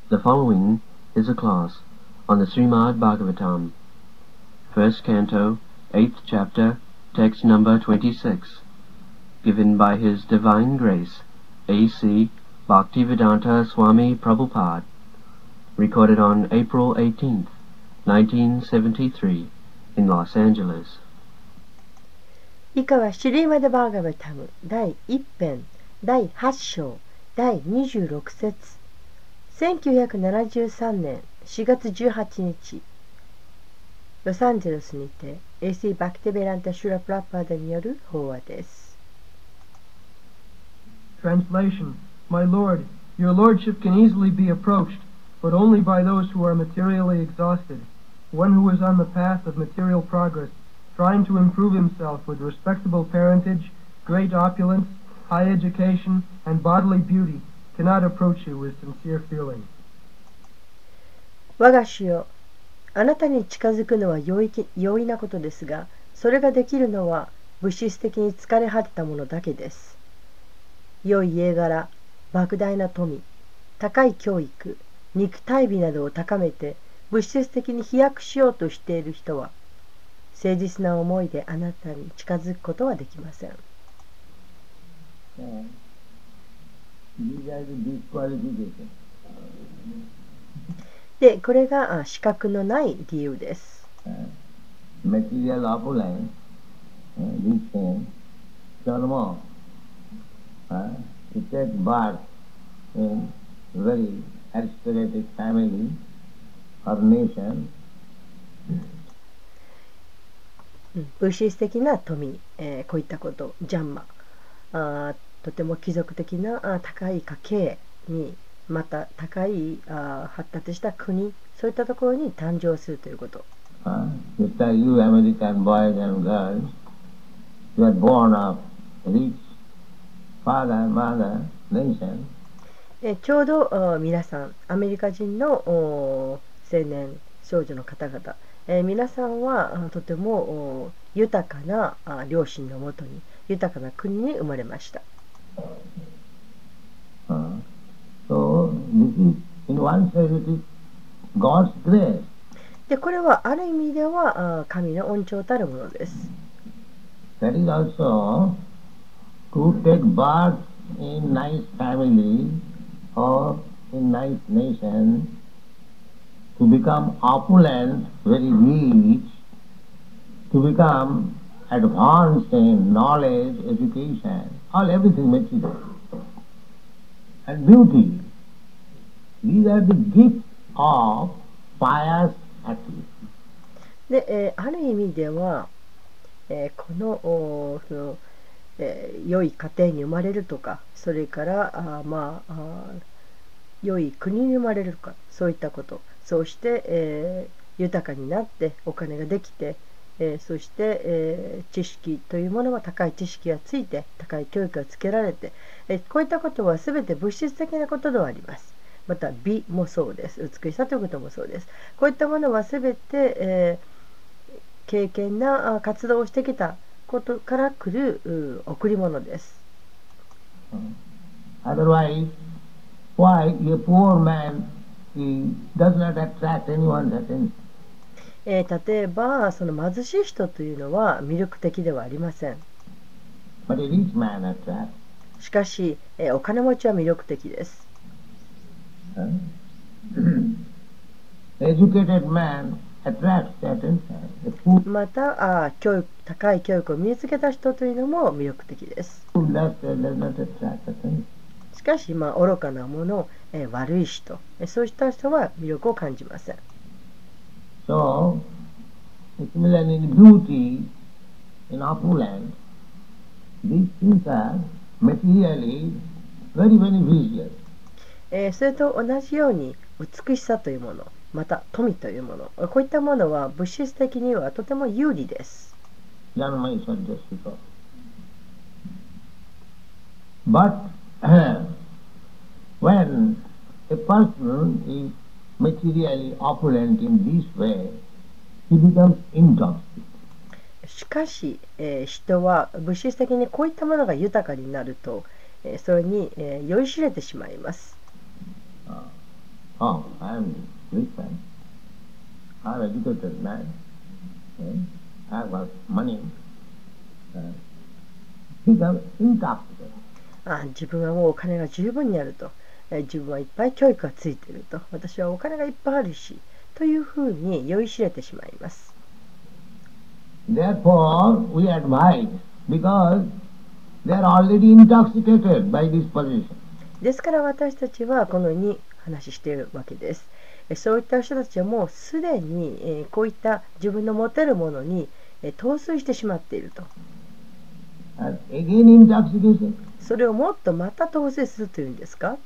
The following is a class on the Srimad Bhagavatam, first canto, 8th chapter, text number 26, given by His Divine Grace, A.C. Bhaktivedanta Swami Prabhupada, recorded on April 18th, 1973, in Los Angeles. 以下はシリーマダ・バーガバタム第1編第8章第26節1973年4月18日ロサンゼルスにて A.C. バクティベランタ・シュラ・プラッパーダによる法話です。 Translation. My Lord, your Lordship can easily be approached, but only by those who are materially exhausted. One who is on the path of material progress, trying to improve himself with respectable parentage, great opulence, high education, and bodily beauty, cannot approach you with sincere feeling. 我が主よ、あなたに近づくのは容易なことですが、それができるのは物質的に疲れ果てたものだけです。良い家柄、莫大な富、高い教育、肉体美などを高めて物質的に飛躍しようとしている人は、誠実な思いであなたに近づくことはできません。で、これが資格のない理由です。 Material opulence, this karma, to take birth in very aristocratic family or nation. 物質的な富、こういったこと、ジャンマ、とても貴族的な高い家系に、また高い発達した国、そういったところに誕生するということ。 Just like you American boys and girls, you are born of rich father, mother, nation. ちょうど皆さん、アメリカ人の青年少女の方々、皆さんはとても豊かな両親のもとに、豊かな国に生まれました。 So, this is, in one sense, it is God's grace. で、これはある意味では神の恩寵たるものです。 That is also to take birth in nice family or in nice nation, to become opulent, very rich, to become advanced in knowledge, education, all everything material. And beauty. These are the gifts of pious activity. で、ある意味では、この良い家庭に生まれるとか、それから良い国に生まれるとか、そういったこと、そうして、豊かになってお金ができて、そして、知識というものは高い知識がついて高い教育がつけられて、こういったことは全て物質的なことではあります。また美もそうです。美しさということもそうです。こういったものは全て、経験な活動をしてきたことから来る贈り物です。 Otherwise, why a poor man he does not attract anyone's attention? 例えばその貧しい人というのは魅力的ではありません。 But a rich man attracts. しかし、お金持ちは魅力的です。 Educated man attracts attention. また高い教育を身につけた人というのも魅力的です。しかし、愚かなもの、悪い人、そうした人は魅力を感じません。 So, similarly in beauty, in opulence, these things are materially very, very vicious. それと同じように美しさというもの、また富というもの、こういったものは物質的にはとても有利です。 But when a person is materially opulent in this way, he becomes intoxicated. しかし、人は物質的にこういったものが豊かになると、それに、酔いしれてしまいます。 Oh, I am rich man. I am educated man. I have got money. Become intoxicated. 自分はもうお金が十分にあると、自分はいっぱい教育がついていると、私はお金がいっぱいあるしというふうに酔いしれてしまいます。 Therefore, we advise, because they are already intoxicated by this position. ですから私たちはこのように話しているわけです。そういった人たちはもうすでにこういった自分の持てるものに陶酔してしまっていると。 And again intoxication. それをもっとまた陶酔するというんですか。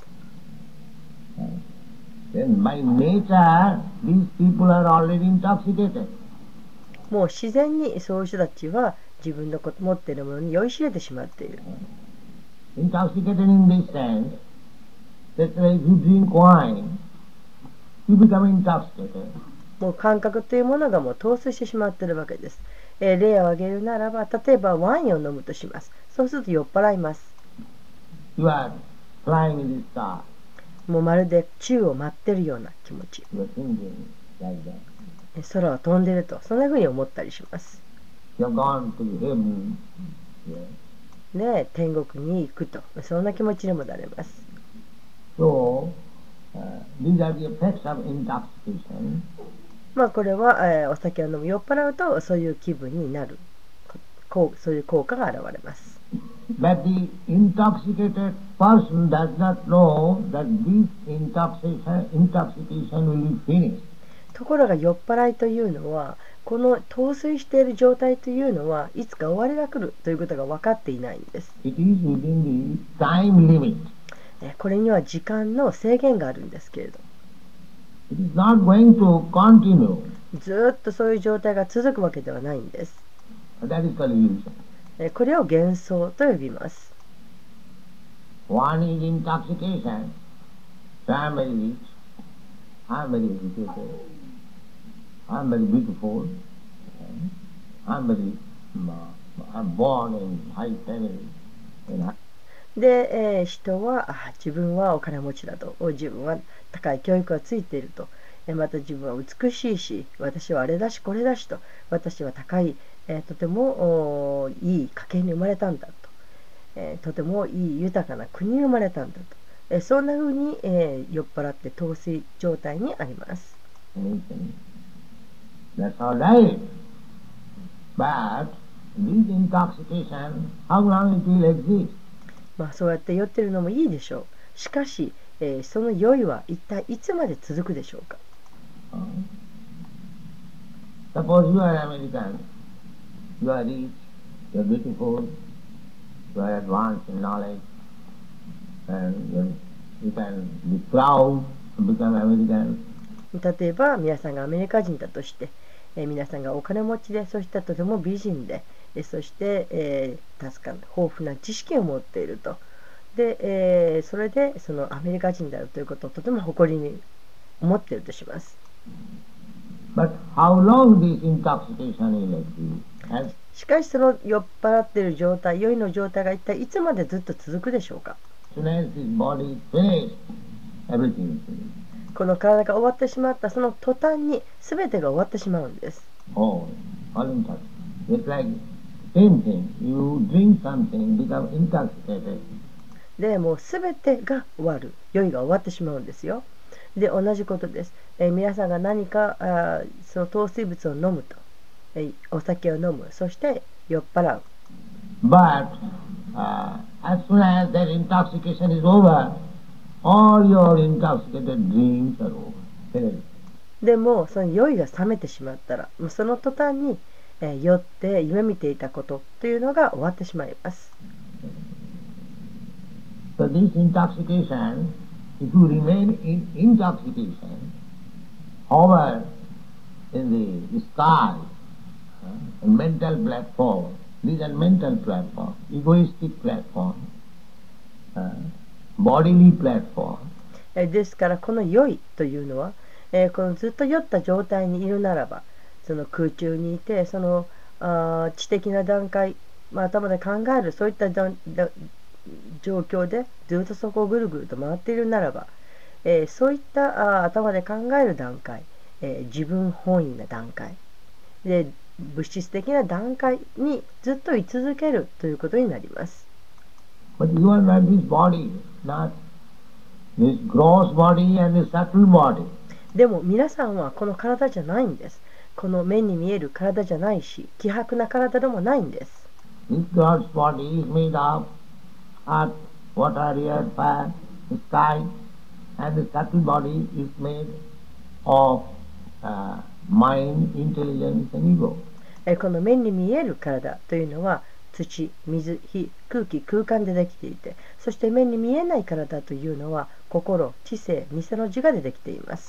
Then by nature, these people are already intoxicated. もう自然にそういう人たちは自分の持っているものに酔いしれてしまっている。 Intoxicated in this sense, that if you drink wine, you become intoxicated. もう感覚というものがもう陶酔してしまっているわけです。例を挙げるならば、例えばワインを飲むとします。そうすると酔っ払います。 You are flying in the sky. もうまるで宙を舞ってるような気持ち。 You are thinking like that. 空を飛んでると、そんな風に思ったりします。 You have gone to heaven. Yeah. で、天国に行くと、そんな気持ちにもなれます。 So, these are the effects of intoxication. まあこれは、お酒を飲む酔っ払うとそういう気分になる、そういう効果が現れます。 But the intoxicated person does not know that this intoxication will be finished. ところが酔っ払いというのは、この陶酔している状態というのはいつか終わりが来るということが分かっていないんです。 It is within the time limit. これには時間の制限があるんですけれど、 It is not going to continue. ずっとそういう状態が続くわけではないんです。 That is called illusion. これを幻想と呼びます。 One is intoxication. So I am very rich. I am very educated. I am very beautiful. I am very. I am born in high family. で、人は自分はお金持ちだと、自分は高い教育がついていると、また自分は美しいし、私はあれだしこれだしと、私は高い、とてもいい家系に生まれたんだと、とてもいい豊かな国に生まれたんだと、そんな風に、酔っ払って陶酔状態にあります。 That's all right. But this intoxication, how long it will exist? まあそうやって酔ってるのもいいでしょう。しかし、その酔いは一体いつまで続くでしょうか。 Suppose you are American, you are rich, you are beautiful, you are advanced in knowledge, and you can be proud to become American. 例えば皆さんがアメリカ人だとして、皆さんがお金持ちで、そしてとても美人で、そして、確かに豊富な知識を持っていると。で、それでそのアメリカ人であるということをとても誇りに思っているとします。 But how long this intoxication will exist? しかしその酔っ払っている状態、酔いの状態が一体いつまでずっと続くでしょうか。 As soon as his body is finished, everything is finished. この体が終わってしまったその途端に全てが終わってしまうんです。 Oh, all intoxicated. It's like same thing. You drink something, become intoxicated. でもう全てが終わる、酔いが終わってしまうんですよ。で同じことです。皆さんが何かその糖水物を飲むと、お酒を飲む、そして酔っ払う。 But as soon as that intoxication is over, all your intoxicated dreams are over. でもその酔いが冷めてしまったら、もうその途端に、酔って夢見ていたことというのが終わってしまいます。 So this intoxication, if you remain in intoxication, hover in the sky, mental platform, these are mental platform, egoistic platform, bodily platform. ですからこの酔いというのは、このずっと酔った状態にいるならば、その空中にいて、その知的な段階、頭で考えるそういった状況でずっとそこをぐるぐると回っているならば、 そういった頭で考える段階、自分本位な段階で物質的な段階にずっと居続けるということになります。 But you are not this body, not this gross body and this subtle body. でも皆さんはこの体じゃないんです。この目に見える体じゃないし、希薄な体でもないんです。 This gross body is made of earth, water, air, fire, sky, and the subtle body is made of mind, intelligence, and ego. この目に見える体というのは土、水、火、空気、空間でできていて、そして目に見えない体というのは心、知性、偽の自我でできています。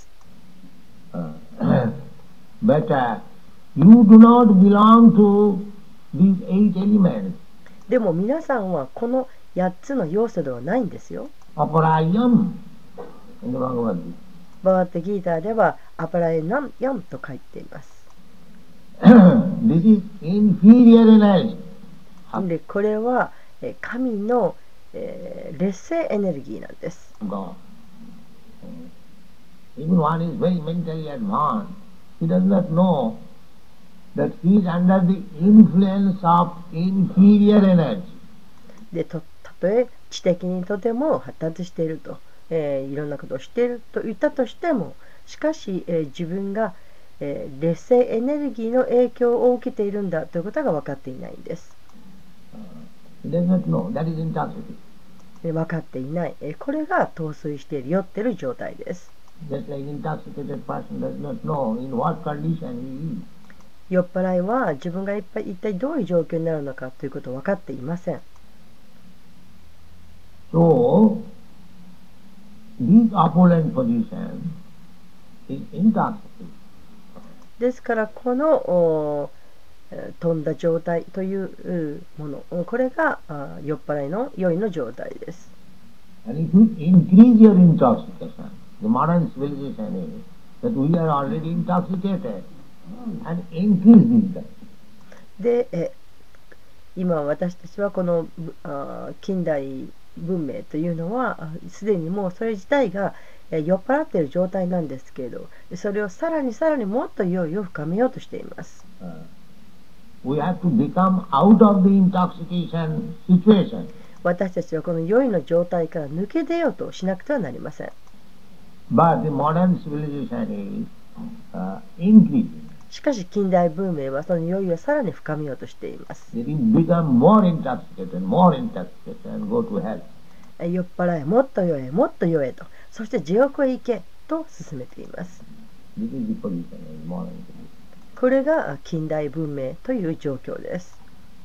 But you do not belong to these 8 elements. でも皆さんはこの8つの要素ではないんですよ。 Aparayam in the Bhagavad Gita. バガッタギーターではアパラエナンヤンと書いています。 This is inferior energy. でこれは神の、劣勢エネルギーなんです。 God. Even one is very mentally advanced, he does not know that he is under the influence of inferior energy. でたとえ知的にとても発達していると、いろんなことをしていると言ったとしても、しかし、自分が、劣勢エネルギーの影響を受けているんだということが分かっていないんです。 He does not know. That is intoxicated. 分かっていない、これが陶酔している、酔っている状態です。 Just like intoxicated person does not know in what condition he is. 酔っ払いは自分が一体どういう状況になるのかということを分かっていません。 So, this opulent position is intoxicated. ですからこの飛んだ状態というもの、これが酔っ払いの酔いの状態です。 And if you increase your intoxication, the modern civilization is that we are already intoxicated and increase this. で、今私たちはこの近代文明というのはすでにもうそれ自体が酔っ払っている状態なんですけれど、それをさらにもっと酔いを深めようとしています。 We have to become out of the intoxication situation. 私たちはこの酔いの状態から抜け出ようとしなくてはなりません。 But the modern civilization is increasing. しかし近代文明はその酔いをさらに深めようとしています。 They become more intoxicated, and go to hell. 酔っ払え、もっと酔え、もっと酔えと、そして地獄へ行けと進めています。 This is the position of modern civilization. これが近代文明という状況です。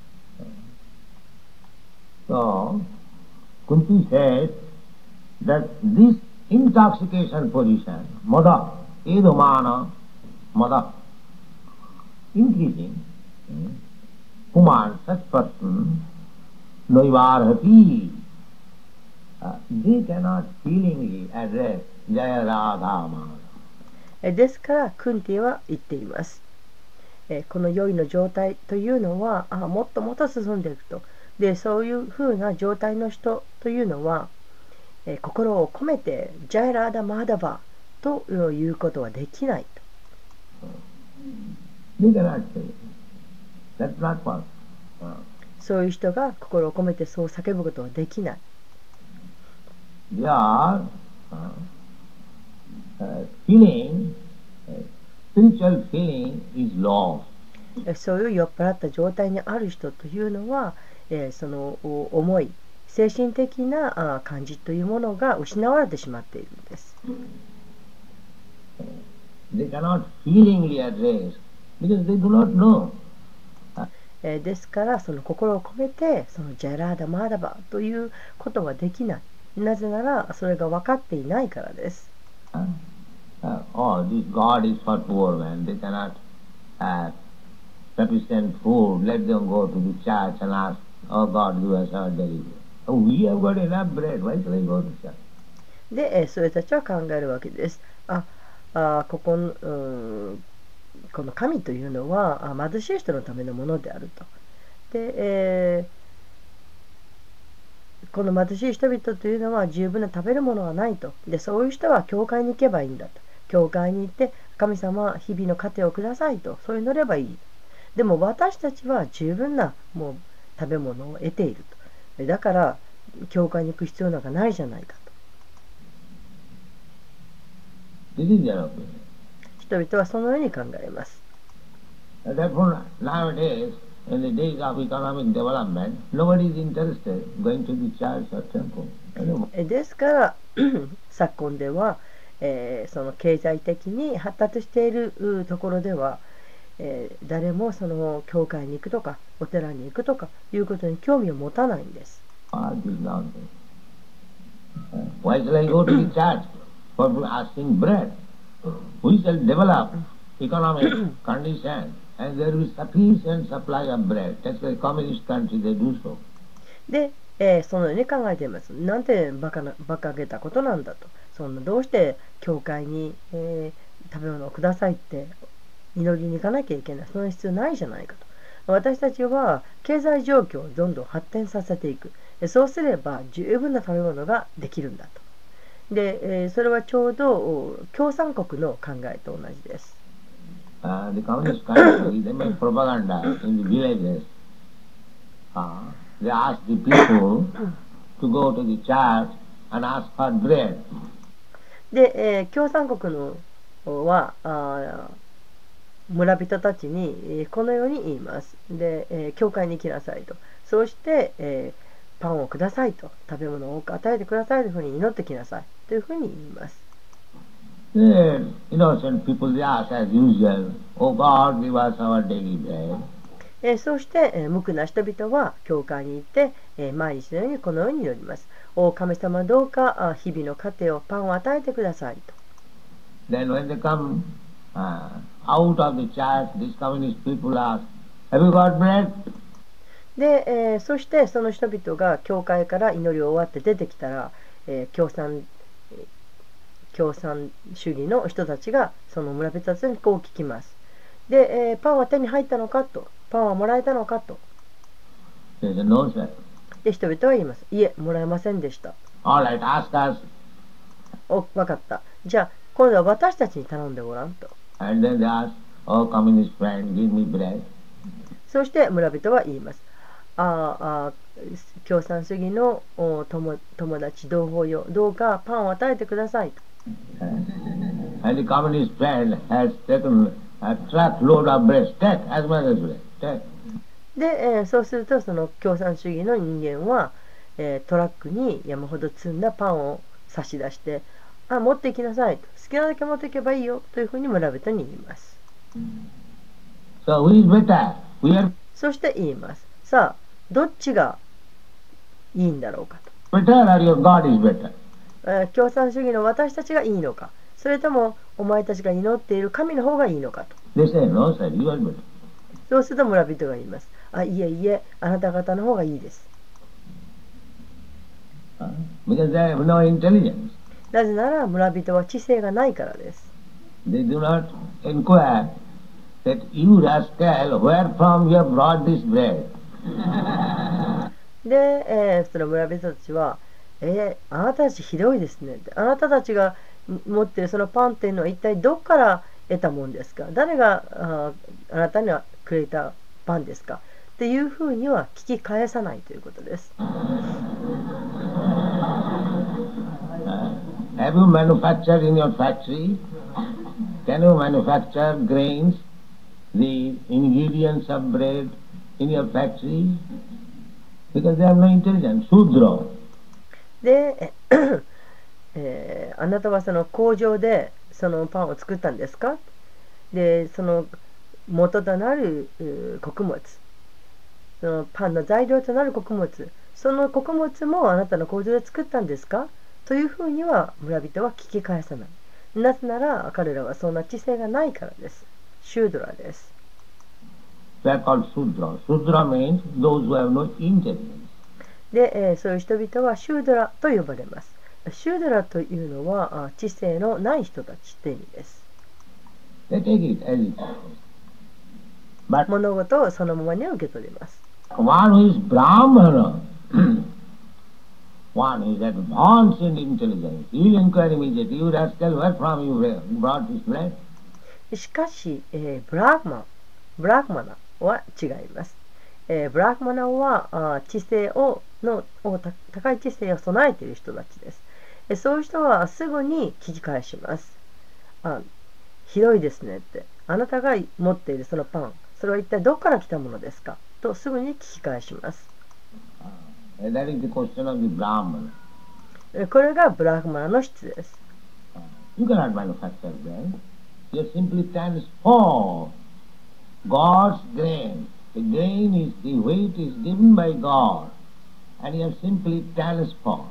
So, Kunti says that this intoxication position, mada, edamana, mada, increasing, Kuman, such person, noivarhati, they cannot feelingly address Jaya Radha Madhava. ですからクンティは言っています。この酔いの状態というのはもっともっと進んでいくと。でそういうふうな状態の人というのは、心を込めてジャイラーダ・マーダバということはできないと。そういう人が心を込めてそう叫ぶことはできない。 Spiritual feeling is lost. そういう酔っ払った状態にある人というのは、その思い、精神的な感じというものが失われてしまっているんです。 They cannot feelingly address because they do not know. ですからその心を込めてそのジャラーダ・マーダバということはできない。なぜならそれが分かっていないからです。 Oh, this God is for poor man. They cannot have sufficient food. Let them go to the church and ask, oh God, give us our daily bread. Oh, we have got enough bread. Why shall I go to church? で、それたちは考えるわけです。この神というのは貧しい人のためのものであると。で、 この貧しい人々というのは十分な食べるものがないと。で、そういう人は教会に行けばいいんだと。教会に行って神様日々の糧をくださいと、そう祈ればいい。でも私たちは十分なもう食べ物を得ていると。だから教会に行く必要なんかないじゃないかと。 This is their opinion. 人々はそのように考えます。 Therefore, nowadays, in the days of economic development, nobody is interested in going to the church or temple. ですから昨今では、その経済的に発達しているところでは、誰もその教会に行くとかお寺に行くとかいうことに興味を持たないんです。 Why shall I go to the church for asking bread? We shall develop economic condition and there will be sufficient supply of bread. That's why communist country they do so. で、そのように考えています。なんてバカげたことなんだと。そんなどうして教会に、食べ物をくださいって祈りに行かなきゃいけない。その必要ないじゃないかと。私たちは経済状況をどんどん発展させていく。そうすれば十分な食べ物ができるんだと。で、それはちょうど共産国の考えと同じです。 The communist country, they make propaganda in the villages. They ask the people to go to the church and ask for bread. で、共産国のは村人たちにこのように言います。で、教会に行きなさいと。そうして、パンをくださいと。食べ物を多く与えてくださいというふうに祈ってきなさいというふうに言います。 Innocent people they ask as usual, "Oh God, give us our daily bread." そうして、無垢な人々は教会に行って、毎日のようにこのように祈ります。お神様どうか日々の糧をパンを与えてくださいと。 Then when they come out of the church, these communist people ask, "Have you got bread?" で、そしてその人々が教会から祈りを終わって出てきたら、共産主義の人たちがその村人たちにこう聞きます。で、パンは手に入ったのかと。パンはもらえたのかと。 No, sir. で、人々は言います。いえ、もらえませんでした。 All right, ask us. わかった。じゃあ、今度は私たちに頼んでごらんと。 And then they ask, "Oh, communist friend, give me bread." そして村人は言います。共産主義の友達同胞よ、どうかパンを与えてくださいと。 And the communist friend has taken a truckload of bread. Take as much as bread. Take. で、そうするとその共産主義の人間は、トラックに山ほど積んだパンを差し出して、持っていきなさいと。好きなだけ持っていけばいいよというふうに村人に言います。 So who is better? We are そして言います。さあ、どっちがいいんだろうかと。 better or your God is better? 共産主義の私たちがいいのか、それともお前たちが祈っている神の方がいいのかと。 They say, "No, sir, you are better." そうすると村人が言います。いえいえ、あなた方の方がいいです。 Because they have no intelligence. なぜなら村人は知性がないからです。 They do not inquire that you rascal, where from you have brought this bread? で、その村人たちは、あなたたちひどいですね。あなたたちが持っているそのパンっていうのは一体どこから得たもんですか？誰があなたにはくれたパンですか？っていうふうには聞き返さないということです。 Have you manufactured in your factory? Can you manufacture grains, the ingredients of bread in your factory? Because they have no intelligence. Shudra. で、あなたはその工場でそのパンを作ったんですか？で、その元となる穀物、そのパンの材料となる穀物、その穀物もあなたの工場で作ったんですか？というふうには村人は聞き返さない。なぜなら彼らはそんな知性がないからです。シュードラです。 They are called Shudra. Shudra means those who have no intelligence. で、そういう人々はシュードラと呼ばれます。シュードラというのは知性のない人たちという意味です。 They take it as it is. But 物事をそのままに受け取ります。 one who is Brahmana, one is advanced in intelligence. You will inquire immediately, you rascal, where from you brought this bread? しかし、ブラグマナは違います。ブラグマナは知性高い知性を備えている人たちです。そういう人はすぐに聞き返します。ひどいですねって。あなたが持っているそのパン、それは一体どこから来たものですかとすぐに聞き返します。 That is the question of the Brahman. これがブラグマナの質です。 You cannot manufacture bread. You simply transform God's grain. The grain is, the weight is given by God, and you have simply transformed.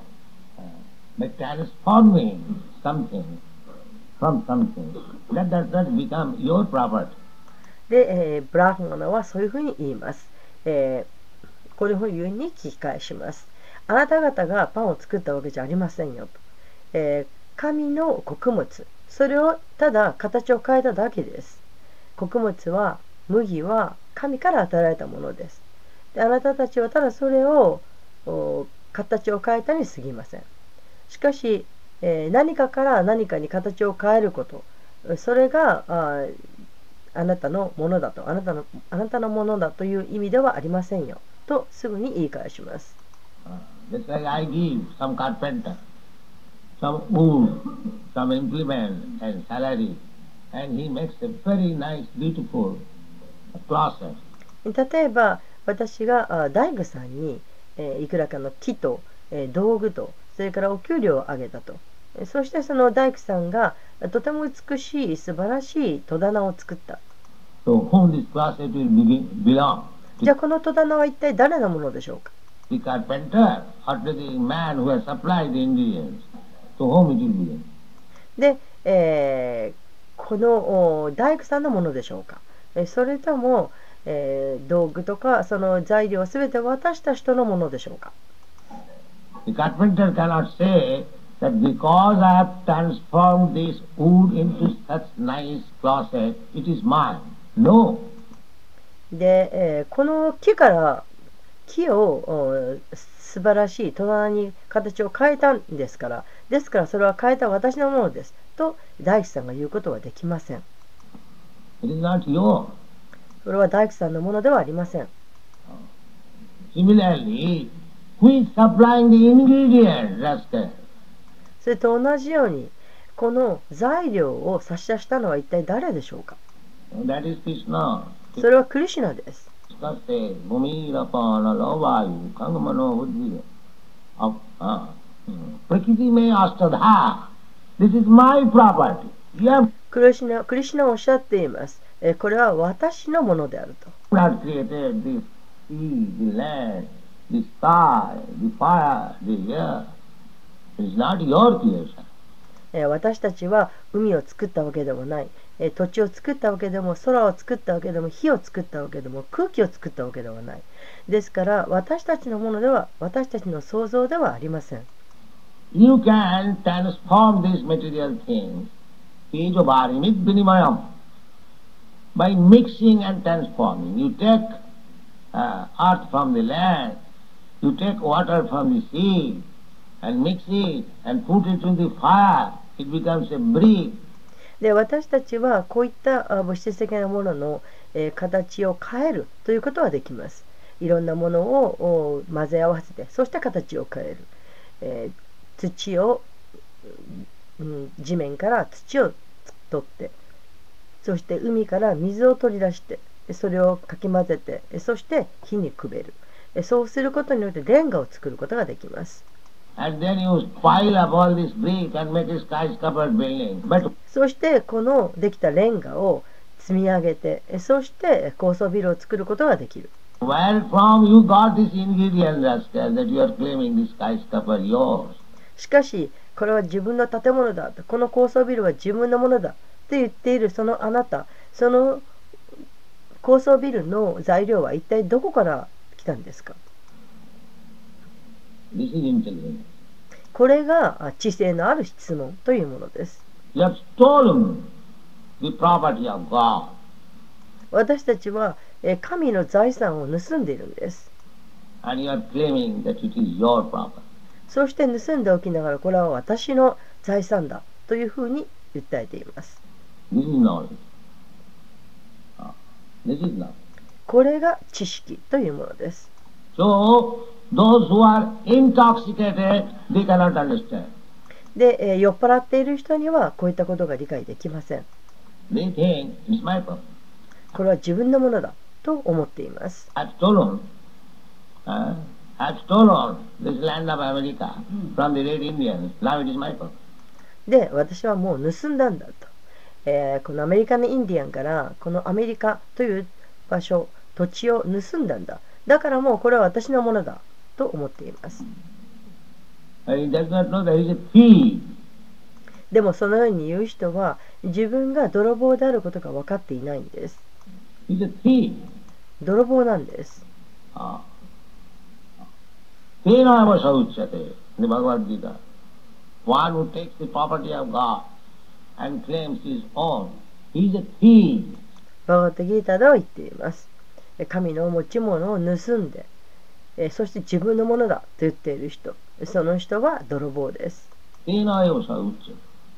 By transforming something from something, that does not become your property. で、ブラグマナはそういうふうに言います。こういうふうに聞き返します。あなた方がパンを作ったわけじゃありませんよと。神の穀物、それをただ形を変えただけです。穀物は、麦は神から与えられたものです。で、あなたたちはただそれを形を変えたに過ぎません。しかし、何かから何かに形を変えること、それがあなたのものだと、あなたのものだという意味ではありませんよとすぐに言い返します。 Just like I give some carpenter some wood, some implement and salary, and he makes a very nice, beautiful closet. 例えば私が大工さんにいくらかの木と道具とそれからお給料をあげたと。そしてその大工さんがとても美しい素晴らしい戸棚を作った。 So whom this closet will belong? じゃあこの戸棚は一体誰のものでしょうか。 The carpenter or to the man who has supplied the ingredients. To whom it will belong? で、この大工さんのものでしょうか。それとも、道具とかその材料をすべて渡した人のものでしょうか。 The carpenter cannot say that because I have transformed this wood into such nice closet, it is mine. No. で、この木を素晴らしい戸棚に形を変えたんですから、ですからそれは変えた私のものですと大工さんが言うことはできません。 It is not yours. それは大工さんのものではありません。 Similarly, who is supplying the ingredients, Rascal? それと同じように、この材料を差し出したのは一体誰でしょうか。 That is Krishna. それはクリシュナです。 Prakriti may astadha. This is my property. You クリシュナはおっしゃっています。これは私のものであると。 have not created this sea, the land, the sky, the fire, the air. It is not your creation. 私たちは海を作ったわけでもない。土地を作ったわけでも、空を作ったわけでも、火を作ったわけでも、空気を作ったわけではない。ですから私たちのものでは、私たちの創造ではありません。 You can transform these material things, tejovarimit vinimayam, by mixing and transforming. You take earth from the land, you take water from the sea, and mix it and put it in the fire. It becomes a brick. で、私たちはこういった物質的なものの、形を変えるということはできます。いろんなものを混ぜ合わせて、そして形を変える。土を、地面から土を取って、そして海から水を取り出して、それをかき混ぜて、そして火にくべる。そうすることによってレンガを作ることができます。 And then you pile up all this brick and make a skyscraper building. But そしてこのできたレンガを積み上げて、そして高層ビルを作ることができる。 where from you got this ingredient, Rascal, that you are claiming this skyscraper yours? しかし、これは自分の建物だと、この高層ビルは自分のものだと言っているそのあなた、その高層ビルの材料は一体どこから来たんですか。 This is intelligence. これが知性のある質問というものです。 You have stolen the property of God. 私たちは神の財産を盗んでいるんです。 And you are claiming that it is your property. そうして盗んでおきながら、これは私の財産だというふうに訴えています。 This is knowledge. This is knowledge. これが知識というものです。 So, those who are intoxicated, they cannot understand. で、酔っ払っている人にはこういったことが理解できません。 They think it's my problem. これは自分のものだと思っています。 I've stolen this land of America from the Red Indians. Now it is my problem. で、私はもう盗んだんだと。このアメリカのインディアンからこのアメリカという場所、土地を盗んだんだ。だからもうこれは私のものだと思っています。 He does not know that he is a thief. でもそのように言う人は自分が泥棒であることが分かっていないんです。 He is a thief. 泥棒なんです。 Tena eva sauchyate, the Bhagavad Gita. One who takes the property of God and claims his own, he is a thief. バガヴァッタギータでは言っています。神の持ち物を盗んで、そして自分のものだと言っている人、その人は泥棒です。 Tena eva sauchyate.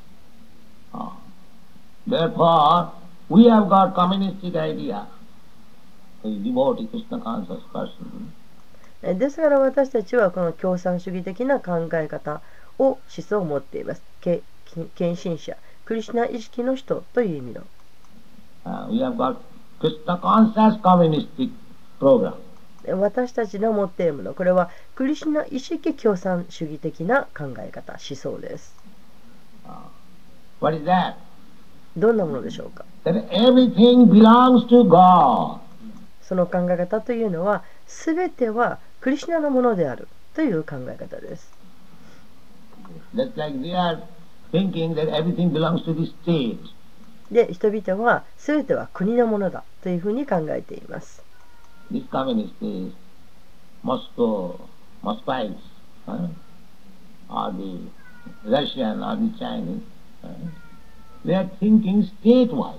Therefore, we have got communistic idea. A devotee Krishna conscious person. ですから私たちはこの共産主義的な考え方を思想を持っています。献身者、クリシュナ意識の人という意味の。 We have got Krishna conscious communistic program. 私たちの持っているもの、これはクリシュナ意識共産主義的な考え方、思想です。 What is that? どんなものでしょうか。 That everything belongs to God. その考え方というのは、すべてはクリシュナのものであるという考え方です。 Just like they are thinking that everything belongs to the state. で、人々はすべては国のものだというふうに考えています。 This communist is Moscovites, or the Russian or the Chinese. They are thinking state-wise.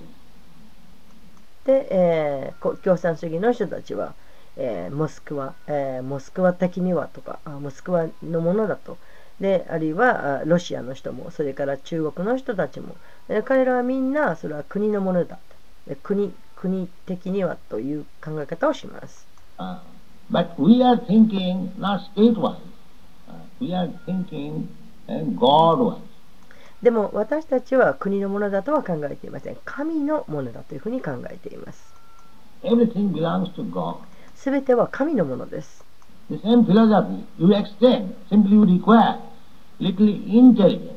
で、共産主義の人たちは、モスクワ的にはとか、モスクワのものだと。で、あるいはロシアの人も、それから中国の人たちも、彼らはみんなそれは国のものだと。国的にはという考え方をします。 But we are thinking not state-wise. We are thinking God-wise. でも私たちは国のものだとは考えていません。神のものだというふうに考えています。 Everything belongs to God. すべては神のものです。 The same philosophy you extend, simply you require little intelligence.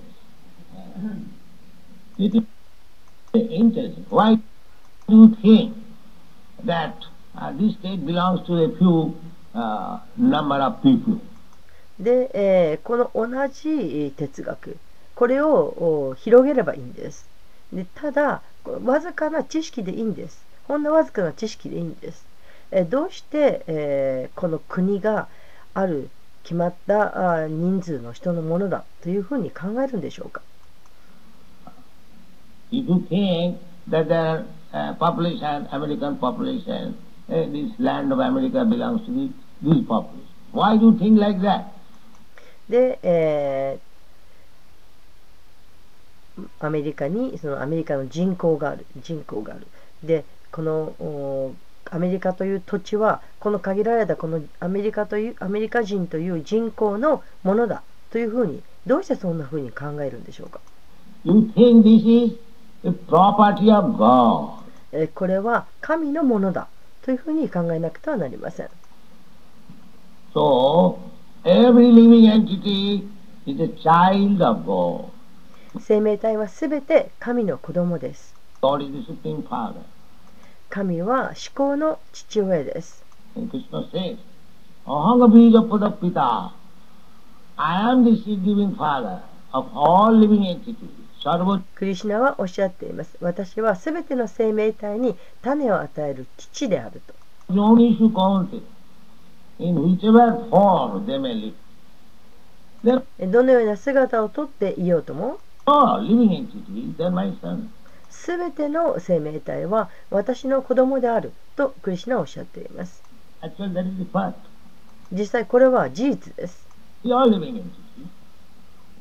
Little intelligence. Why do you think that this state belongs to a few number of people? で、この同じ哲学、これを広げればいいんです。で、ただ、わずかな知識でいいんです。ほんのわずかな知識でいいんです。どうして、この国がある決まった人数の人のものだというふうに考えるんでしょうか。 If you think that the population, American population, this land of America belongs to this population, why do you think like that? で、アメリカにそのアメリカの人口がある。で、このアメリカという土地はこの限られたこのアメリカ人という人口のものだというふうに、どうしてそんなふうに考えるんでしょうか。 You think this is the property of God. これは神のものだというふうに考えなくてはなりません。 So, every living entity is a child of God. 生命体はすべて神の子供です。 God is the Supreme Father. 神は至高の父親です。 And Krishna says, Ahanga bija padapita. I am the seed-giving father of all living entities. クリシュナはおっしゃっています。私はすべての生命体に種を与える父であると。 どのような姿をとっていようとも、すべての生命体は私の子供であるとクリシュナはおっしゃっています。実際これは事実です。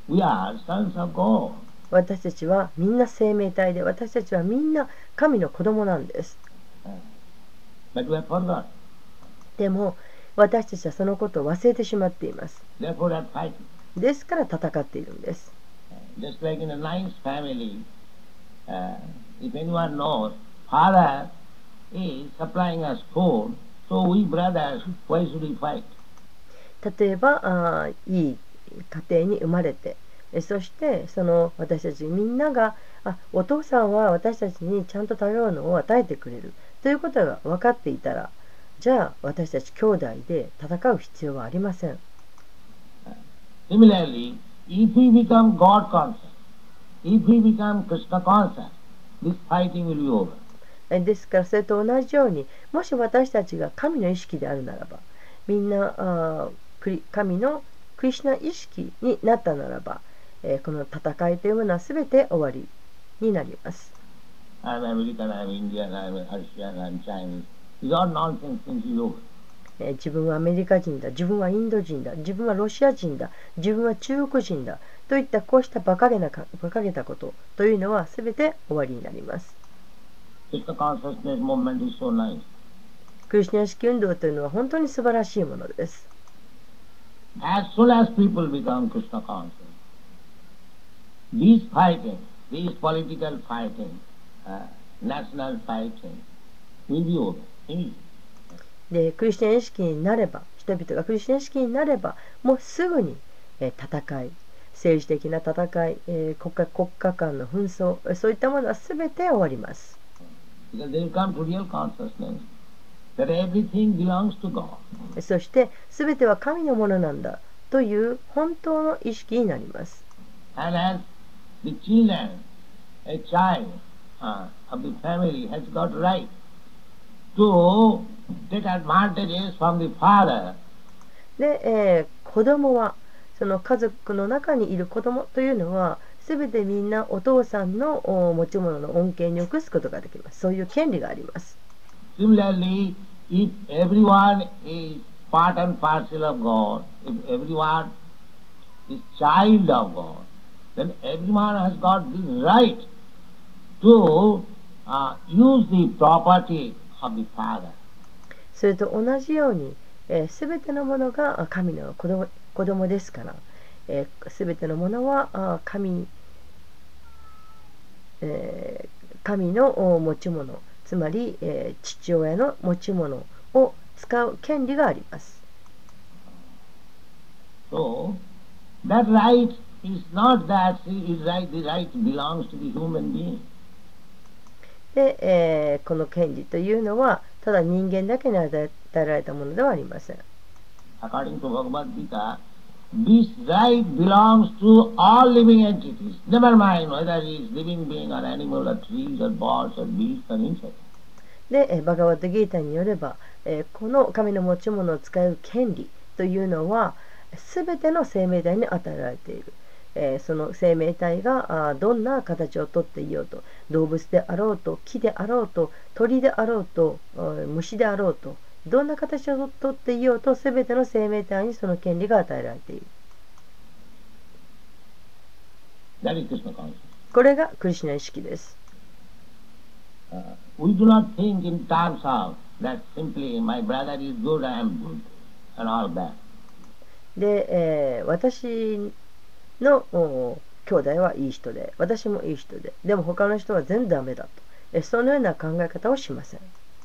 We are sons of God. 私たちはみんな生命体で、私たちはみんな神の子供なんです。 But we have forgot. でも私たちはそのことを忘れてしまっています。 Therefore, we are fighting. ですから戦っているんです。 Just like in a nice family, if anyone knows, father is supplying us food, so we brothers, why should we fight? 例えばいい家庭に生まれて、そしてその私たちみんながお父さんは私たちにちゃんと食べ物を与えてくれるということが分かっていたら、じゃあ私たち兄弟で戦う必要はありません。 Similarly, if we become God conscious, if we become Krishna conscious, this fighting will be over. ですからそれと同じように、もし私たちが神の意識であるならば、みんな神のクリシュナ意識になったならば、この戦いというものは全て終わりになります。 I'm American, I'm Indian, I'm Russian, I'm Chinese. These are nonsense things is over. 自分はアメリカ人だ、自分はインド人だ、自分はロシア人だ、自分は中国人だといったこうした馬鹿げたことというのは全て終わりになります。 Krishna consciousness movement is so nice. クリシュナ意識運動というのは本当に素晴らしいものです。 As soon as people become Krishna conscious, these fighting, these political fighting, national fighting will be over. でクリスチャン意識になれば、人々がクリスチャン意識になれば、もうすぐに戦い、政治的な戦い、国家間の紛争、そういったものは全て終わります。そして全ては神のものなんだという本当の意識になります。 And as the children, a child of the family has got right to take advantages from the father. で、子供はその家族の中にいる子供というのは全てみんなお父さんの持ち物の恩恵に移すことができます。そういう権利があります。 Similarly, if everyone is part and parcel of God, if everyone is child of God, then everyone has got the right to use the property of the father. それと同じように、すべてのものが神の子供ですから、すべてのものは神の持ち物、つまり、父親の持ち物を使う権利があります。 So, that right is not that the right belongs to the human being. で、この権利というのはただ人間だけに与えられたものではありません。 According to Bhagavad Gita, this right belongs to all living entities. Never mind whether it is living being or animal or trees or birds or beasts or insects. で、バガバットギータによれば、この神の持ち物を使う権利というのはすべての生命体に与えられている。その生命体がどんな形をとっていようと、動物であろうと、木であろうと、鳥であろうと、虫であろうと、どんな形をとっていようと、すべての生命体にその権利が与えられている。これがクリシュナ意識です。 We do not think in terms of that simply my brother is good, I am good, and all that. で、私の兄弟はいい人で、私もいい人で、でも他の人は全然ダメだと、そのような考え方をしません。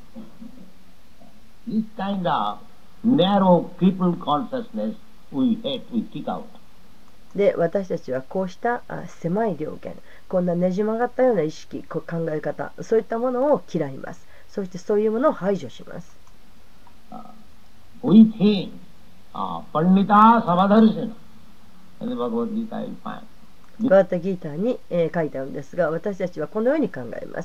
This kind of narrow crippled consciousness we hate, we kick out. で、私たちはこうした狭い了見、こんなねじ曲がったような意識、考え方、そういったものを嫌います。そしてそういうものを排除します。 We think, Pandita Savadharishana. バガバットギータに、書いてあるんですが、私たちはこのように考えます。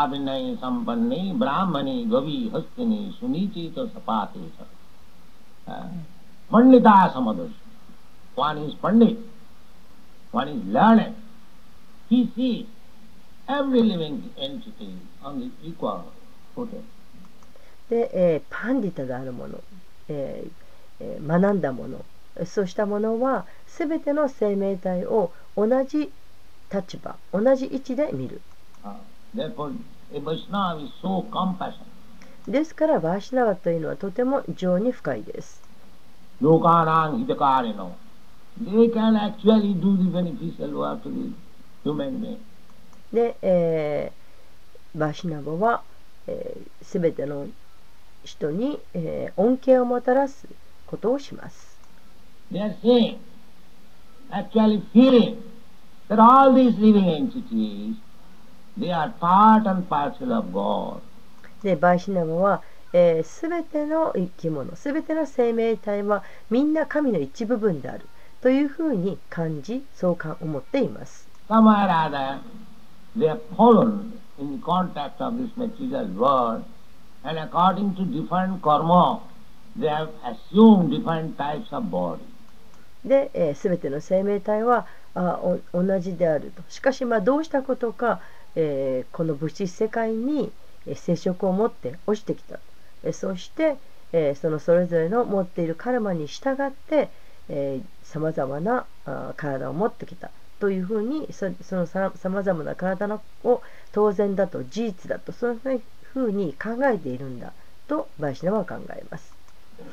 One is Pandit, one is learned. He sees every living entity on the equal footing. で、パンディタであるもの、学んだもの、 そうしたものはすべての生命体を同じ立場、同じ位置で見る。 Therefore, a Vaishnava is so compassionate. ですからバーシナワというのはとても情に深いです。 Lokanang hitakarino. They can actually do the beneficial work to the human being. で、バーシナワはすべての人に、恩恵をもたらすことをします。 They are saying, actually feeling that all these living entities, they are part and parcel of God. でバーシナワはすべての生き物、すべての生命体はみんな神の一部分であるというふうに感じ、そう思っています。 Somehow or other, they have fallen in the contact of this material world, and according to different karma, they have assumed different types of body. で、すべての生命体は同じであると。しかし、どうしたことか、この物質世界に接触を持って落ちてきた。そして、それぞれの持っているカルマに従って、さまざまな体を持ってきたというふうに、そのさまざまな体を当然だと、事実だと、そういうふうに考えているんだとバイシナは考えます。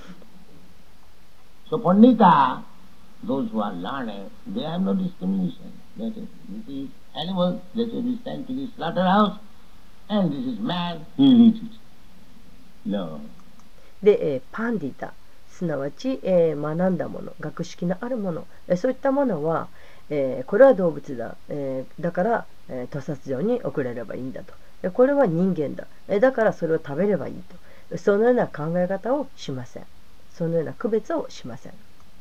So Pandita, those who are learning, they have no discrimination. That is, this is animal, that is sent to the slaughterhouse, and this is man, he will eat it. No. で、パンディタ、すなわち、学んだもの、学識のあるもの、そういったものは、これは動物だ、だから、屠殺場に送れればいいんだと。これは人間だ、だからそれを食べればいいと。そのような考え方をしません。そのような区別をしません。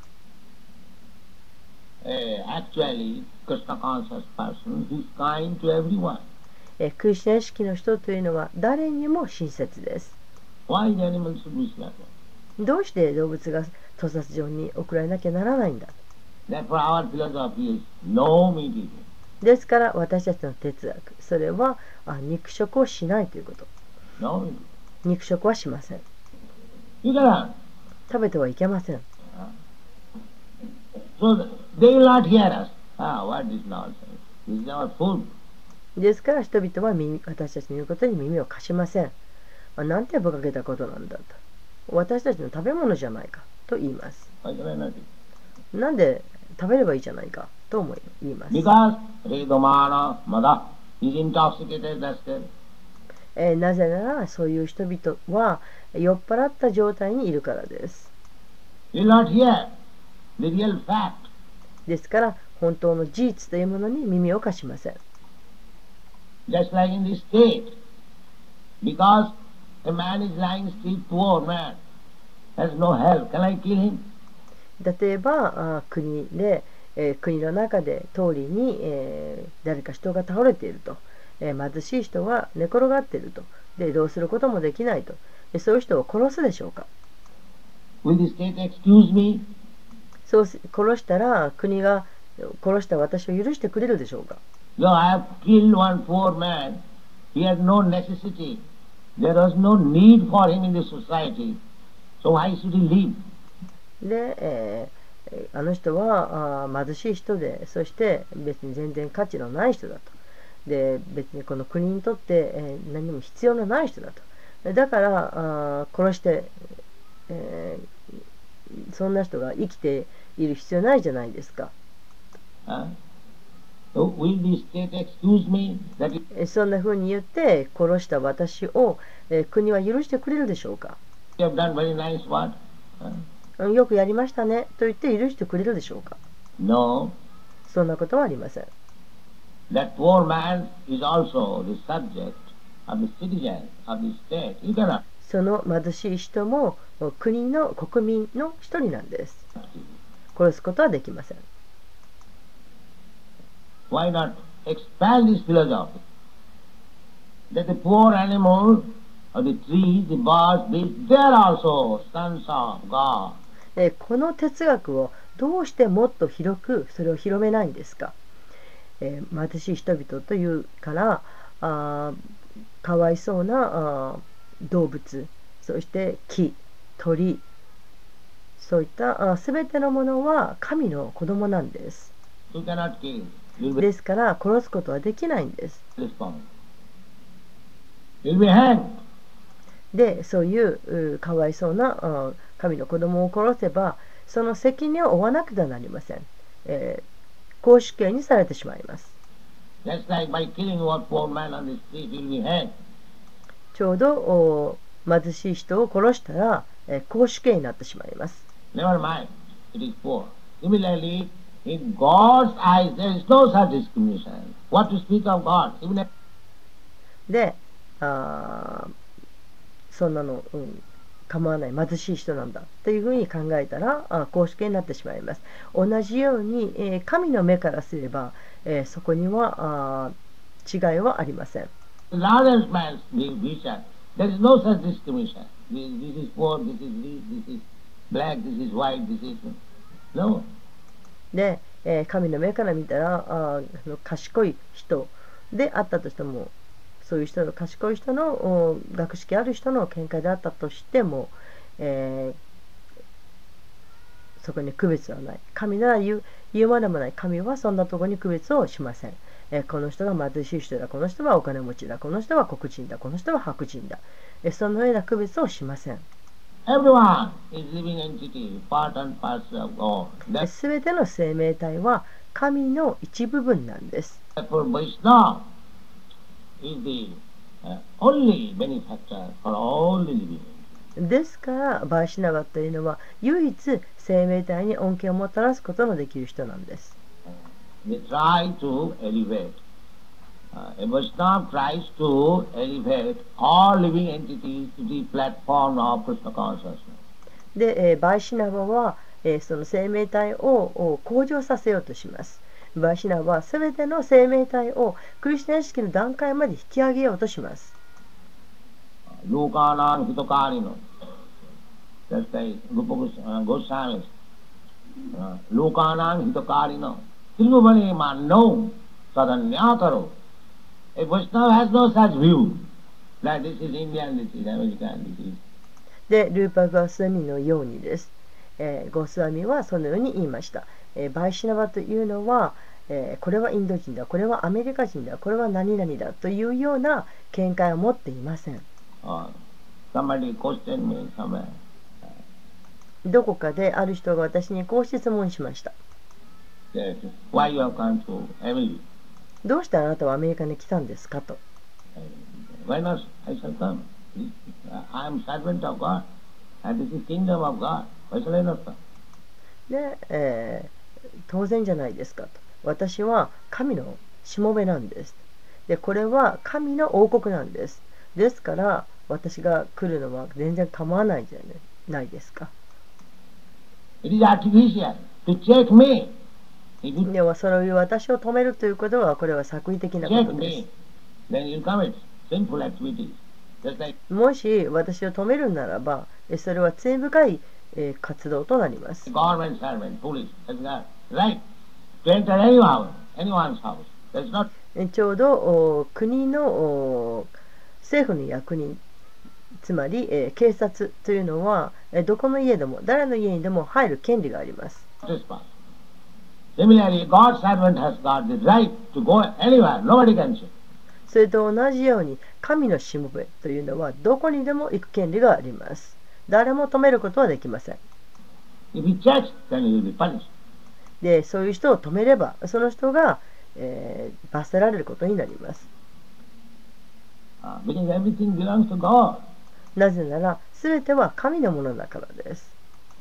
Actually, Krishna conscious person is kind to everyone. クリシュナ意識の人というのは誰にも親切です。 Why the animals should be slaughtered? どうして動物が屠殺場に送られなきゃならないんだ。 Therefore, our philosophy is no meat eating. ですから私たちの哲学、それは肉食をしないということ。 No meat eating. 肉食はしません。 You cannot. 食べてはいけません。 So they will not hear us. What is nonsense? This is our food. ですから人々は私たちの言うことに耳を貸しません。なんて馬鹿げたことなんだと。私たちの食べ物じゃないかと言います。 Why can I not eat? なんで食べればいいじゃないかと言います。 Because Redomana Mada is intoxicated, that's it. なぜならそういう人々は酔っ払った状態にいるからです。 You will not hear the real fact. ですから本当の事実というものに耳を貸しません。 Just like in this state, because a man is lying still, poor man, has no help. Can I kill him? 例えば国で、国の中で通りに、誰か人が倒れていると、貧しい人が寝転がっていると、でどうすることもできないと、そういう人を殺すでしょうか。 Will the state excuse me? そう殺したら国が殺した私を許してくれるでしょうか。 So I have killed one poor man. He had no necessity. There was no need for him in the society. So why should he live? で、あの人は貧しい人で、そして別に全然価値のない人だと。で別にこの国にとって、何も必要のない人だと。だから殺して、そんな人が生きている必要ないじゃないですか。 So will the state excuse me that you そんな風に言って殺した私を、国は許してくれるでしょうか。 have done very nice work? よくやりましたねと言って許してくれるでしょうか。 No. そんなことはありません。 That poor man is also the subject of the citizen of the state. You cannot. その貧しい人も国の国民の一人なんです。殺すことはできません。 Why not expand this philosophy? That the poor animal or the trees, the birds, beasts, they are also sons of God. この哲学をどうしてもっと広くそれを広めないんですか。貧しい人々というからかわいそうな動物、そして木、鳥、 そういったすべてのものは神の子供なんです。 You cannot kill. You'll be ですから殺すことはできないんです。 responsible. You'll be hanged. でそういうかわいそうな神の子供を殺せばその責任を負わなくてはなりません。公主刑にされてしまいます。 Just like by killing one poor man on the street, you'll be hanged. ちょうど貧しい人を殺したら公主刑になってしまいます。 Never mind, it is poor. Similarly, in God's eyes, there is no such discrimination. What to speak of God? Even if でそんなの、構わない貧しい人なんだというふうに考えたら公主刑になってしまいます。同じように、神の目からすれば、そこには違いはありません。 the largest man's vision, there is no such discrimination. This is poor, this is rich, this is black, this is white, this is... No. で、神の目から見たら賢い人であったとしてもそういう人の賢い人の学識ある人の見解であったとしても、そこに区別はない。神なら言うまでもない。神はそんなところに区別をしません。この人が貧しい人だ、この人はお金持ちだ、この人は黒人だ、この人は白人だ、そのような区別をしません。 Everyone is living entity, part and parcel of God. すべての生命体は神の一部分なんです。 Therefore, Vaishnava is the only benefactor for all the living. ですからバイシナバというのは唯一生命体に恩恵をもたらすことのできる人なんです。 They try to elevate. A Vaishnava tries to elevate all living entities to the platform of Krishna consciousness. で、バイシナバは、その生命体を向上させようとします。バイシナバはすべての生命体をクリスチャン意識の段階まで引き上げようとします。 Lokanam hitokarino. Just like Rupa Goswami. Lokanam hitokarino. Tribhuvane mano sadanyakaro. A Vaishnava has no such view. That this is Indian, this is American, this is... で、ルーパー・ゴスワミのようにです。ゴスワミはそのように言いました。バイシナバというのは、これはインド人だ、これはアメリカ人だ、これは何々だというような見解を持っていません。 Somebody questioned me somewhere. どこかである人が私にこう質問しました。 That why you have come to America? どうしてあなたはアメリカに来たんですかと。 Why not? I shall come. I am servant of God. And this is kingdom of God. Why shall I not come? で、当然じゃないですかと。私は神のしもべなんです。で、これは神の王国なんです。ですから私が来るのは全然構わないじゃないですか。 It is artificial to check me. If you ではそういう私を止めるということはこれは作為的なこ check とで me, then you commit sinful activities. Just like す。もし私を止めるならばそれは罪深い活動となります。 government servant, police, has got right to enter anyone's house. That's not ちょうど国の政府の役人つまり、警察というのはどこの家でも誰の家にでも入る権利があります。 trespass. Similarly, God's servant has got the right to go anywhere. Nobody can check. それと同じように神のしもべというのはどこにでも行く権利があります。誰も止めることはできません。 If he checks, then he will be punished. で、そういう人を止めればその人が、罰せられることになります。 Because everything belongs to God. なぜなら全ては神のものだからです。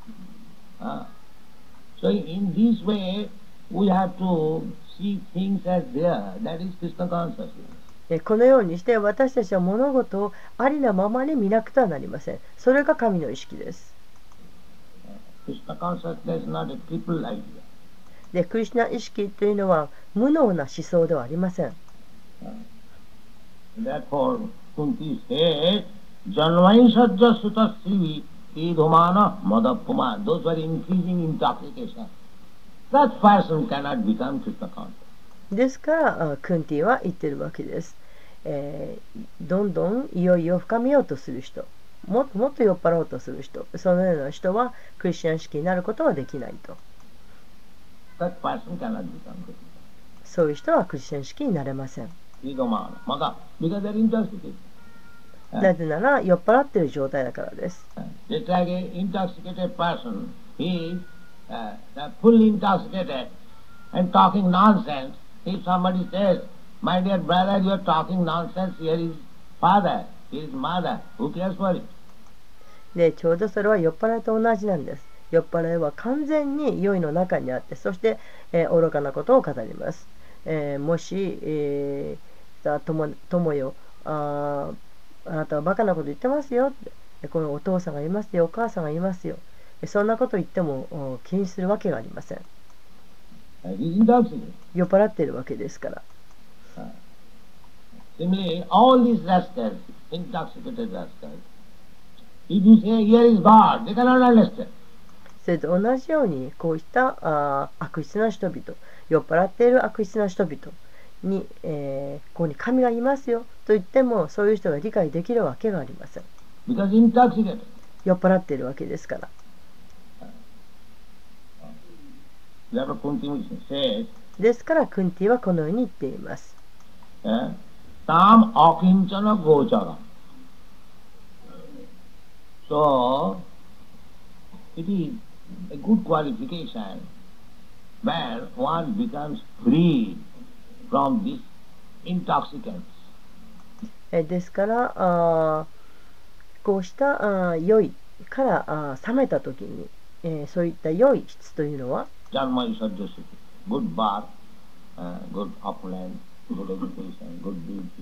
So in this way, we have to see things as they are. That is Krishna consciousness. このようにして私たちは物事をありなままに見なくてはなりません。それが神の意識です。 Krishna consciousness is not a crippled idea. で、クリシュナ意識というのは無能な思想ではありません。 Therefore, Kunti says, Janvaisajya sutta sivi idhumana madapuma. Those who are increasing intoxication. Such person cannot become Krishna conscious. ですからクンティは言ってるわけです。どんどんいよいよ深めようとする人もっともっと酔っ払おうとする人、そのような人はクリスチャン式になることはできないと。 That person cannot become Christian. そういう人はクリスチャン式になれません。 Because they're intoxicated. なぜなら酔っ払っている状態だからです。 Just like an intoxicated person, he is fully intoxicated and talking nonsense. If somebody says, "My dear brother, you are talking nonsense, here is father, here is mother, who cares for it?" で、ちょうどそれは酔っ払いと同じなんです。酔っ払いは完全に酔いの中にあって、そして、愚かなことを語ります。もし、友よ、あなたはバカなこと言ってますよって、このお父さんがいますよ、お母さんがいますよ、そんなこと言っても気にするわけがありません。酔っ払っているわけですから。 Similarly, all these rascals, intoxicated rascals, if you say, "Here is God," they cannot understand. それと同じように、こうした悪質な人々、酔っ払っている悪質な人々に、ここに神がいますよと言っても、そういう人が理解できるわけがありません。 Because intoxicated. 酔っ払っているわけですから。ですから、クンティはこのように言っています。 Tam akinchana gochara. So, it is a good qualification where one becomes free from these intoxicants. ですからこうした酔いから冷めた時に、そういった酔い質というのは good birth, good opulence, good education, good beauty.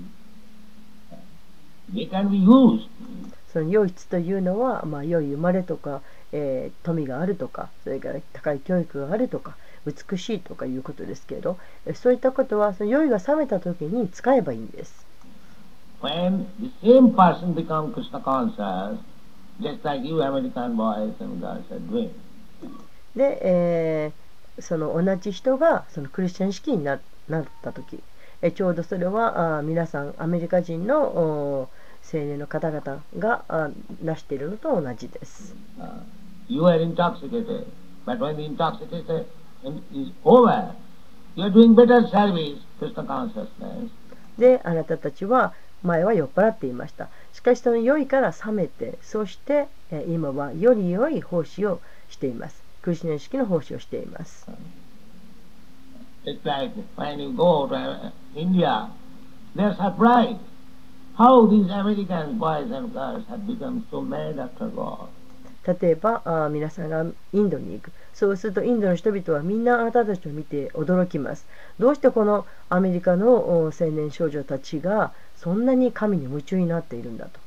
They can be used. その良い質というのは、良い生まれとか、富があるとか、それから高い教育があるとか、美しいとかいうことですけれど、そういったことはその酔いが冷めた時に使えばいいんです。 When the same person becomes Krishna conscious, just like you American boys and girls are doing. で、その同じ人がそのクリスチャン式になった時、ちょうどそれは皆さんアメリカ人の青年の方々がなしているのと同じです。 You are intoxicated, but when the intoxication is over, you are doing better service, Krishna consciousness. で、あなたたちは前は酔っ払っていました。しかしその酔いから冷めて、そして今はより良い奉仕をしています。クリスチャン式の奉仕をしています。 It's like when you go to India, they're surprised how these American boys and girls have become so mad after God. 例えば皆さんがインドに行く。そうするとインドの人々はみんなあなたたちを見て驚きます。どうしてこのアメリカの青年少女たちがそんなに神に夢中になっているんだと。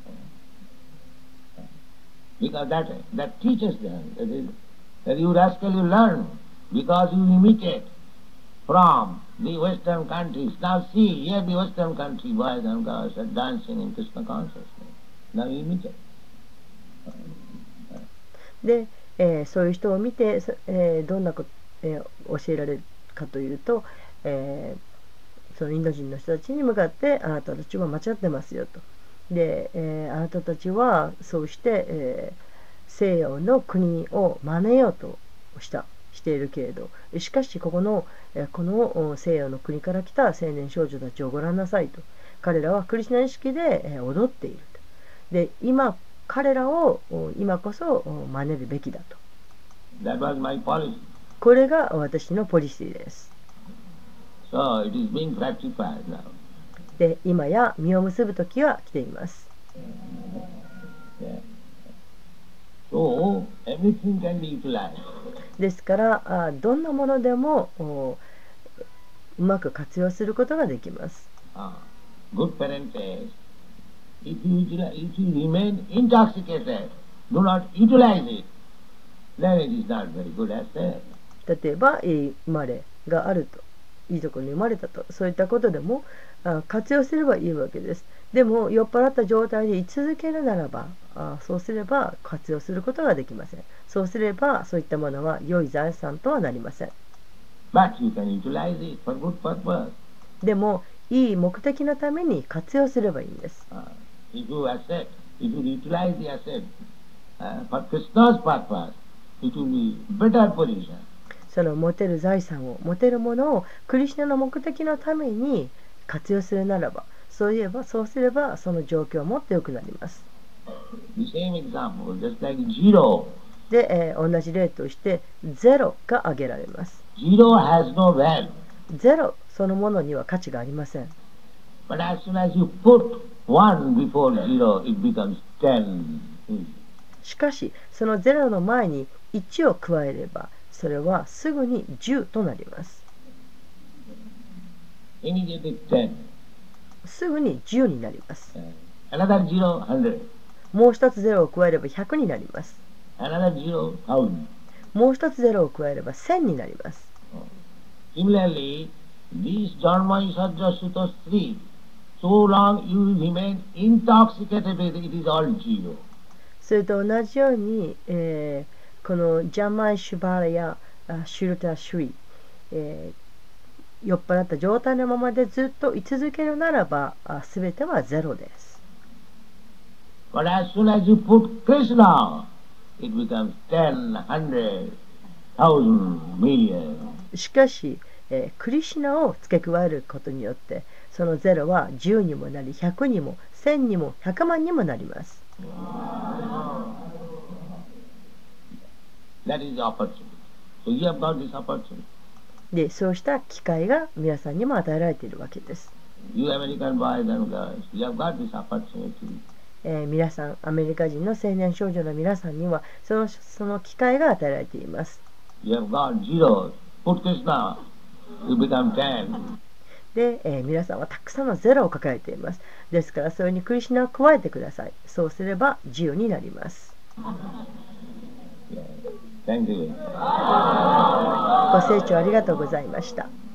Because that teaches them that you rascal you learn because you imitate from the Western countries. Now see, here the Western country boys and girls are dancing in Krishna consciousness. Now you imitate. で、そういう人を見て、どんなこと、教えられるかというと、そのインド人の人たちに向かってあなたたちは間違ってますよと。で、あなたたちはそうして、西洋の国を真似ようとしているけれど、しかしこの西洋の国から来た青年少女たちをご覧なさいと。彼らはクリスチャン式で踊っていると。で、彼らを今こそ真似るべきだと。 That was my policy. これが私のポリシーです。 So it is being practiced now. で、今や実を結ぶ時は来ています。 So everything can be utilized. ですからどんなものでもうまく活用することができます。 Good parent says, if you remain intoxicated, do not utilize it, then it is not very good as said. 例えばいい生まれがあると、いいところに生まれたと、そういったことでも活用すればいいわけです。でも酔っ払った状態で居続けるならばそうすれば活用することができません。そうすればそういったものは良い財産とはなりません。 But you can utilize it for good purpose. でもいい目的のために活用すればいいんです。 If you accept if you utilize the asset for Krishna's purpose, it will be better position. その持てる財産を、持てるものをクリシュナの目的のために活用するならば、そうすればその状況はもっと良くなります。 The same example, just like zero. で、同じ例としてゼロが挙げられます。 Zero has no value. ゼロそのものには価値がありません。 But as soon as you put one before zero, it becomes 10. しかし、そのゼロの前に1を加えれば、それはすぐに10となります。 Immediately 10. すぐに10になります。 Another zero, 100. もう一つゼロを加えれば100になります。 Another zero, 1000. もう一つゼロを加えれば1000になります。 Similarly, these Dharma Isajja Sutta 3, so long you remain intoxicated with it, it is all zero. それと同じように、このジャマイ・シュバラやシュルタ・シュイ、酔っ払った状態のままでずっと居続けるならば、すべてはゼロです。 But as soon as you put Krishna, it becomes 10, 100, 1000, million. しかし、クリシュナを付け加えることによって、そのゼロは10にもなり、100にも、1000にも、100万にもなります。 That is the opportunity. So you have got this opportunity. で、そうした機会が皆さんにも与えられているわけです。 You American boys and girls, you have got this opportunity. 皆さん、アメリカ人の青年少女の皆さんにはその機会が与えられています。 You have got zeros. Put Krishna, you become 10. で、皆さんはたくさんのゼロを抱えています。ですから、それにクリシュナを加えてください。そうすれば10になります。 Thank you. ご清聴ありがとうございました。